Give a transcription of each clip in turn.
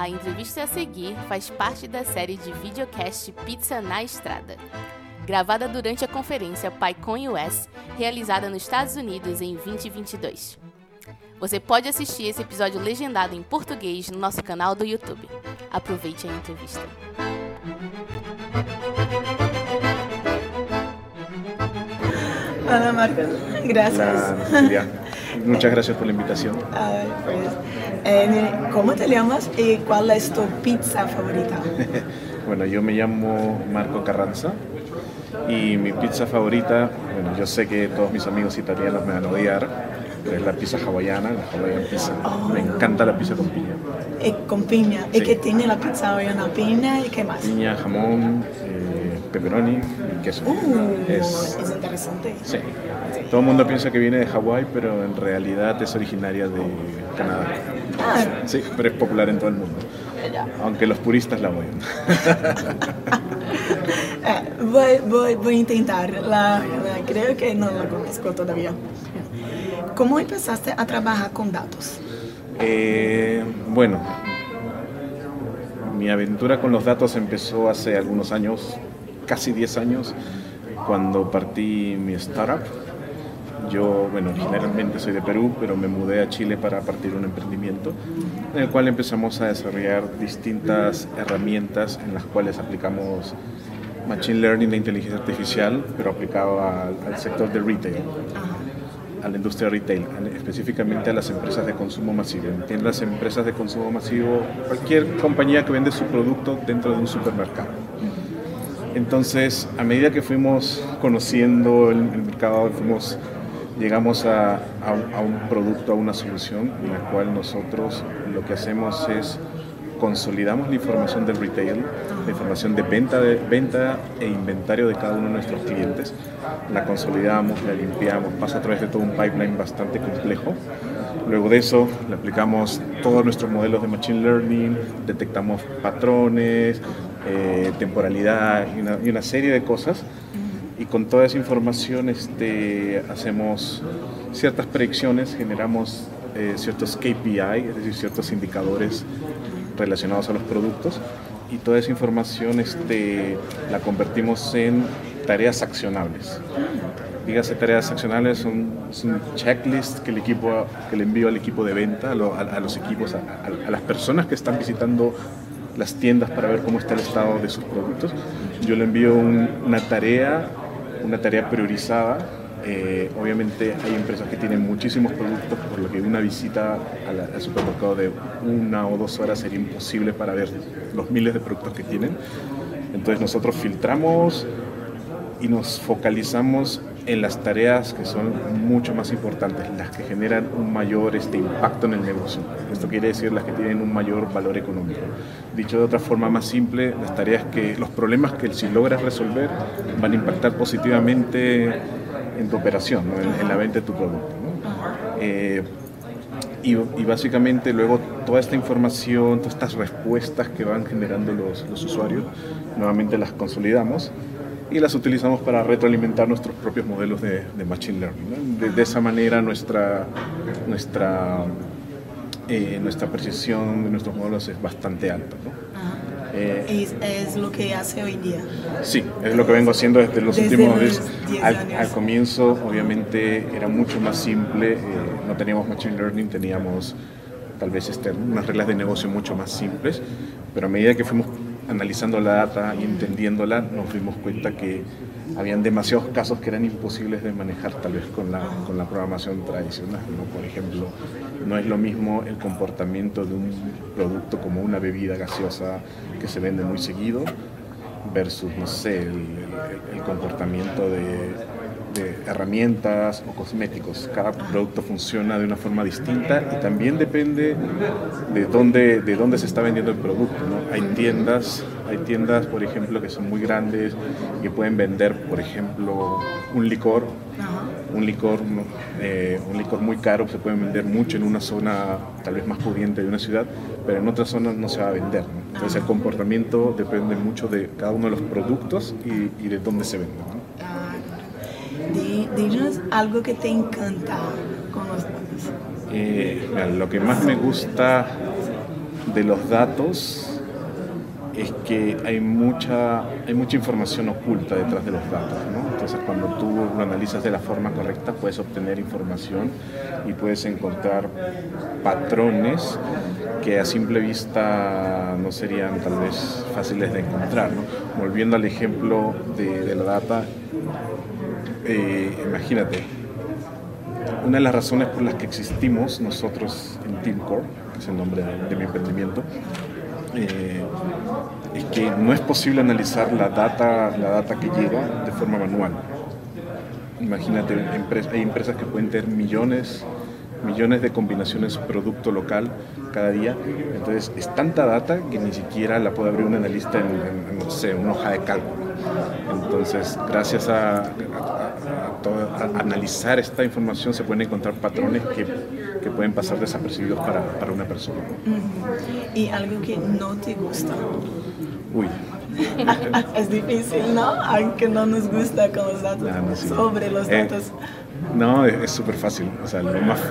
A entrevista a seguir faz parte da série de videocast Pizza na Estrada, gravada durante a conferência PyCon US, realizada nos Estados Unidos em 2022. Você pode assistir esse episódio legendado em português no nosso canal do YouTube. Aproveite a entrevista. Hola Marco, gracias. Hola, muchas gracias por la invitación. ¿Cómo te llamas y cuál es tu pizza favorita? Bueno, yo me llamo Marco Carranza y mi pizza favorita, bueno, yo sé que todos mis amigos italianos me van a odiar, pero es la pizza hawaiana, la Hawaiian pizza. Me encanta la pizza con piña. Con piña. Sí. ¿Y qué tiene la pizza hawaiana? ¿Piña y qué más? Piña, jamón, pepperoni y queso. Es interesante. Sí. Todo el mundo piensa que viene de Hawái, pero en realidad es originaria de Canadá. Sí, pero es popular en todo el mundo. Aunque los puristas la odian. Voy a intentar. Creo que no la conozco todavía. ¿Cómo empezaste a trabajar con datos? Bueno, mi aventura con los datos empezó hace algunos años, casi 10 años, cuando partí mi startup. Yo, bueno, originalmente soy de Perú, pero me mudé a Chile para partir un emprendimiento en el cual empezamos a desarrollar distintas herramientas en las cuales aplicamos Machine Learning e inteligencia artificial, pero aplicado al sector de retail, a la industria retail, específicamente a las empresas de consumo masivo. En las empresas de consumo masivo, cualquier compañía que vende su producto dentro de un supermercado. Entonces, a medida que fuimos conociendo el mercado, llegamos a un producto, a una solución en la cual nosotros lo que hacemos es consolidamos la información del retail, la información de venta e inventario de cada uno de nuestros clientes, la consolidamos, la limpiamos, pasa a través de todo un pipeline bastante complejo. Luego de eso le aplicamos todos nuestros modelos de Machine Learning, detectamos patrones, temporalidad y una serie de cosas. Y con toda esa información hacemos ciertas predicciones, generamos ciertos KPI, es decir, ciertos indicadores relacionados a los productos, y toda esa información la convertimos en tareas accionables. Dígase tareas accionables, son checklists que le envío al equipo de venta, a los equipos, a las personas que están visitando las tiendas para ver cómo está el estado de sus productos. Yo le envío una tarea priorizada. Obviamente hay empresas que tienen muchísimos productos, por lo que una visita al supermercado de 1 o 2 horas sería imposible para ver los miles de productos que tienen. Entonces nosotros filtramos y nos focalizamos en las tareas que son mucho más importantes, las que generan un mayor impacto en el negocio. Esto quiere decir las que tienen un mayor valor económico. Dicho de otra forma más simple, las tareas los problemas que si logras resolver van a impactar positivamente en tu operación, ¿no? en la venta de tu producto, ¿no? Y básicamente luego toda esta información, todas estas respuestas que van generando los usuarios, nuevamente las consolidamos y las utilizamos para retroalimentar nuestros propios modelos de Machine Learning, ¿no? De esa manera nuestra precisión de nuestros modelos es bastante alta, ¿no? ¿Es lo que hace hoy día? Sí, es lo que vengo haciendo desde los últimos 10 años. Al comienzo, obviamente, era mucho más simple, no teníamos Machine Learning, teníamos tal vez unas reglas de negocio mucho más simples, pero a medida que fuimos analizando la data y entendiéndola, nos dimos cuenta que habían demasiados casos que eran imposibles de manejar tal vez con la programación tradicional, ¿no? Por ejemplo, no es lo mismo el comportamiento de un producto como una bebida gaseosa que se vende muy seguido versus, no sé, el comportamiento de herramientas o cosméticos. Cada producto funciona de una forma distinta y también depende de dónde se está vendiendo el producto, ¿no? Hay tiendas, por ejemplo, que son muy grandes y que pueden vender, por ejemplo, un licor muy caro, se puede vender mucho en una zona tal vez más pudiente de una ciudad, pero en otras zonas no se va a vender, ¿no? Entonces el comportamiento depende mucho de cada uno de los productos y de dónde se venden, ¿no? Dinos algo que te encanta con los datos. Mira, lo que más me gusta de los datos es que hay mucha información oculta detrás de los datos, ¿no? Entonces, cuando tú lo analizas de la forma correcta, puedes obtener información y puedes encontrar patrones que a simple vista no serían tal vez fáciles de encontrar, ¿no? Volviendo al ejemplo de la data, imagínate, una de las razones por las que existimos nosotros en TeamCore, que es el nombre de mi emprendimiento, es que no es posible analizar la data que llega de forma manual. Imagínate, hay empresas que pueden tener millones de combinaciones producto local cada día. Entonces es tanta data que ni siquiera la puede abrir un analista en no sé, una hoja de cálculo. Entonces, gracias a analizar esta información se pueden encontrar patrones que pueden pasar desapercibidos para una persona. ¿Y algo que no te gusta? Uy. Es difícil, ¿no? Aunque no nos gusta con los datos, Sí. sobre los datos. No, es súper fácil. O sea,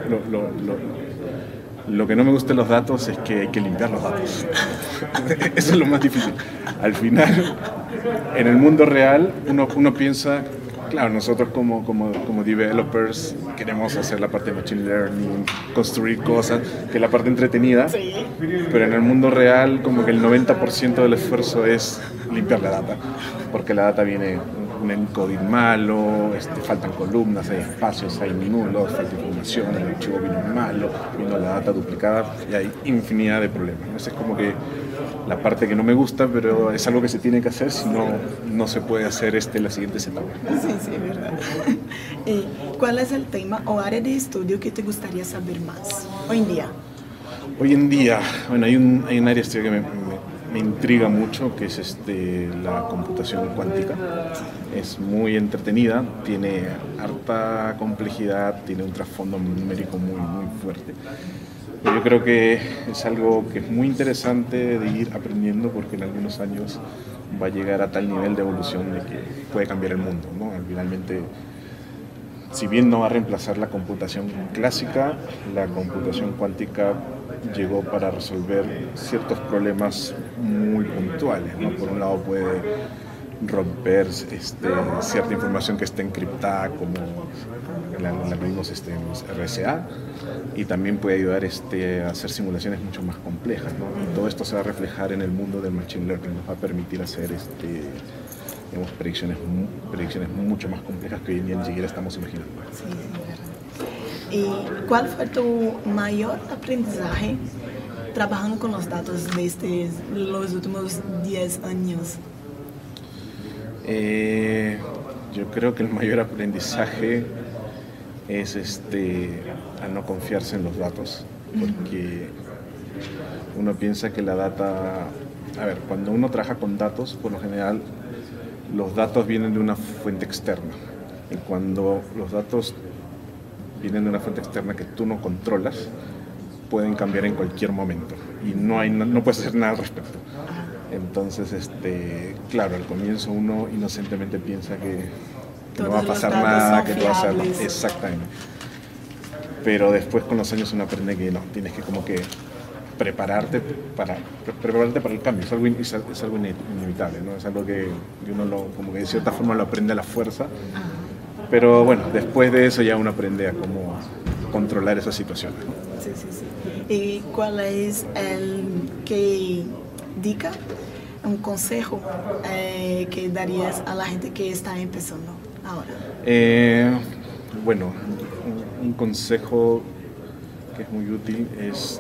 lo que no me gusta de los datos es que hay que limpiar los datos. Eso es lo más difícil. Al final, en el mundo real, uno piensa, claro, nosotros como developers queremos hacer la parte de machine learning, construir cosas, que es la parte entretenida, Sí. pero en el mundo real como que el 90% del esfuerzo es limpiar la data, porque la data viene un encoding malo, faltan columnas, hay espacios, hay nulos, falta información, el archivo vino malo, vino la data duplicada y hay infinidad de problemas. Esa es como que la parte que no me gusta, pero es algo que se tiene que hacer, si no, no se puede hacer la siguiente etapa. Sí, verdad. ¿Y cuál es el tema o área de estudio que te gustaría saber más hoy en día? Hoy en día, bueno, hay un área de estudio que me intriga mucho, que es la computación cuántica. Es muy entretenida, tiene harta complejidad, tiene un trasfondo numérico muy fuerte. Yo creo que es algo que es muy interesante de ir aprendiendo, porque en algunos años va a llegar a tal nivel de evolución de que puede cambiar el mundo, ¿no? Finalmente, si bien no va a reemplazar la computación clásica, la computación cuántica llegó para resolver ciertos problemas muy puntuales, ¿no? Por un lado puede romper cierta información que está encriptada, como la que vimos en RSA, y también puede ayudar a hacer simulaciones mucho más complejas, ¿no? Y todo esto se va a reflejar en el mundo del machine learning, nos va a permitir hacer digamos, predicciones mucho más complejas que hoy en día ni siquiera estamos imaginando. Sí, verdad. ¿Y cuál fue tu mayor aprendizaje trabajando con los datos desde los últimos 10 años? Yo creo que el mayor aprendizaje es a no confiarse en los datos, porque uno piensa que la data... A ver, cuando uno trabaja con datos, por lo general, los datos vienen de una fuente externa. Y cuando los datos vienen de una fuente externa que tú no controlas, pueden cambiar en cualquier momento y no puedes hacer nada al respecto. Entonces, claro, al comienzo uno inocentemente piensa que no va a pasar nada, que todo va a ser... Exactamente. Pero después con los años uno aprende que no, tienes que como que prepararte para el cambio. Es algo inevitable, ¿no? Es algo que uno como que de cierta forma lo aprende a la fuerza. Pero bueno, después de eso ya uno aprende a cómo controlar esas situaciones, ¿no? Sí. ¿Y cuál es un consejo que darías a la gente que está empezando ahora? Bueno, un consejo que es muy útil es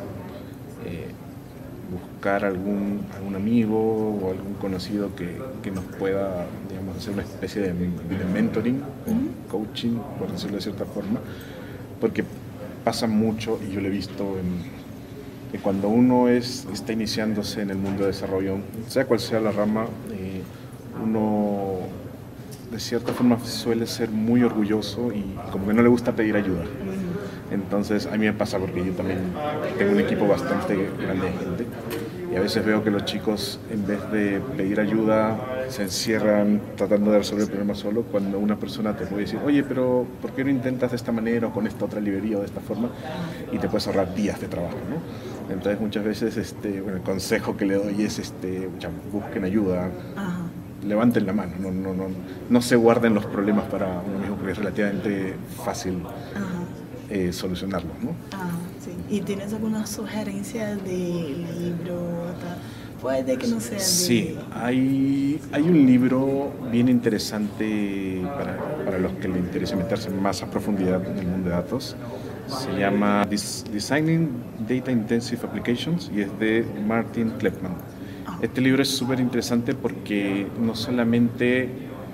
buscar algún amigo o algún conocido que nos pueda, digamos, hacer una especie de mentoring, coaching, por decirlo de cierta forma, porque pasa mucho, y yo lo he visto que cuando uno está iniciándose en el mundo de desarrollo, sea cual sea la rama, uno de cierta forma suele ser muy orgulloso y como que no le gusta pedir ayuda. Entonces a mí me pasa, porque yo también tengo un equipo bastante grande de gente, Y a veces veo que los chicos, en vez de pedir ayuda, se encierran tratando de resolver el problema solo, cuando una persona te puede decir, oye, pero ¿por qué no intentas de esta manera o con esta otra librería o de esta forma? Y te puedes ahorrar días de trabajo, ¿no? Entonces muchas veces el consejo que le doy es busquen ayuda. Ajá. Levanten la mano, no se guarden los problemas para uno mismo, porque es relativamente fácil solucionarlos, ¿no? Sí. ¿Y tienes alguna sugerencia de libro? Puede que no sea de... Sí, hay un libro bien interesante para los que les interese meterse más a profundidad en el mundo de datos. Se llama Designing Data Intensive Applications y es de Martin Kleppmann. Este libro es súper interesante porque no solamente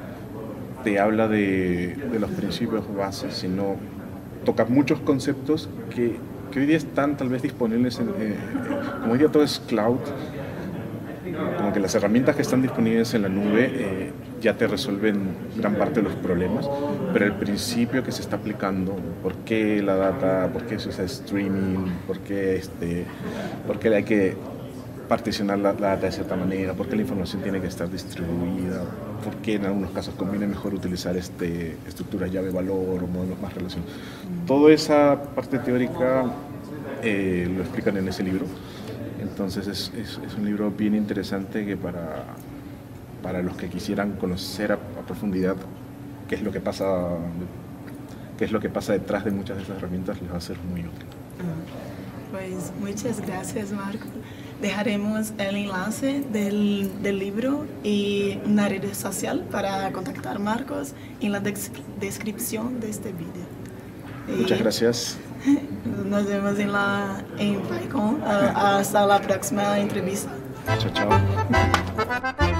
te habla de los principios bases, sino toca muchos conceptos que hoy día están tal vez disponibles, como hoy día todo es cloud, como que las herramientas que están disponibles en la nube ya te resuelven gran parte de los problemas, pero el principio que se está aplicando, por qué la data, por qué se usa streaming, por qué hay que particionar la data de cierta manera, por qué la información tiene que estar distribuida, por qué en algunos casos conviene mejor utilizar estructuras llave-valor o modelos más relacionados. Toda esa parte teórica lo explican en ese libro. Entonces es un libro bien interesante que para los que quisieran conocer a profundidad qué es lo que pasa detrás de muchas de esas herramientas, les va a ser muy útil. Pues muchas gracias, Marco. Dejaremos el enlace del libro y una red social para contactar a Marcos en la descripción de este vídeo. Muchas gracias. Nos vemos en PyCon. Hasta la próxima entrevista. Chao, chao.